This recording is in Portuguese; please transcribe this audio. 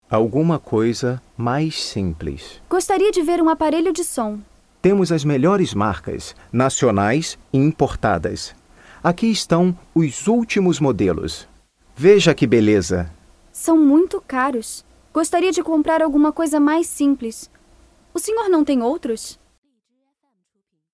Alguma coisa mais simples. Gostaria de ver um aparelho de som. Temos as melhores marcas, nacionais e importadas. Aqui estão os últimos modelos. Veja que beleza! São muito caros. Gostaria de comprar alguma coisa mais simples. O senhor não tem outros?